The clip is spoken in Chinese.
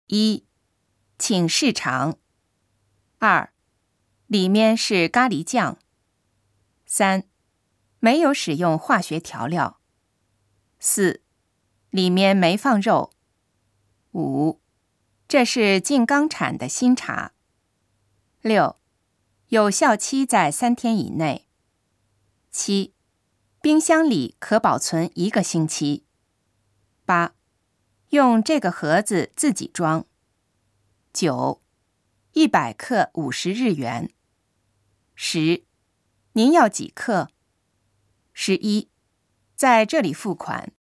1. 请试尝。2. 里面是咖喱酱。3. 没有使用化学调料。4. 里面没放肉。5. 这是静冈产的新茶。6. 有效期在3天以内。7. 冰箱里可保存1个星期。8. 用这个盒子自己装。9. 100克50日元。10. 您要几克？11. 在这里付款。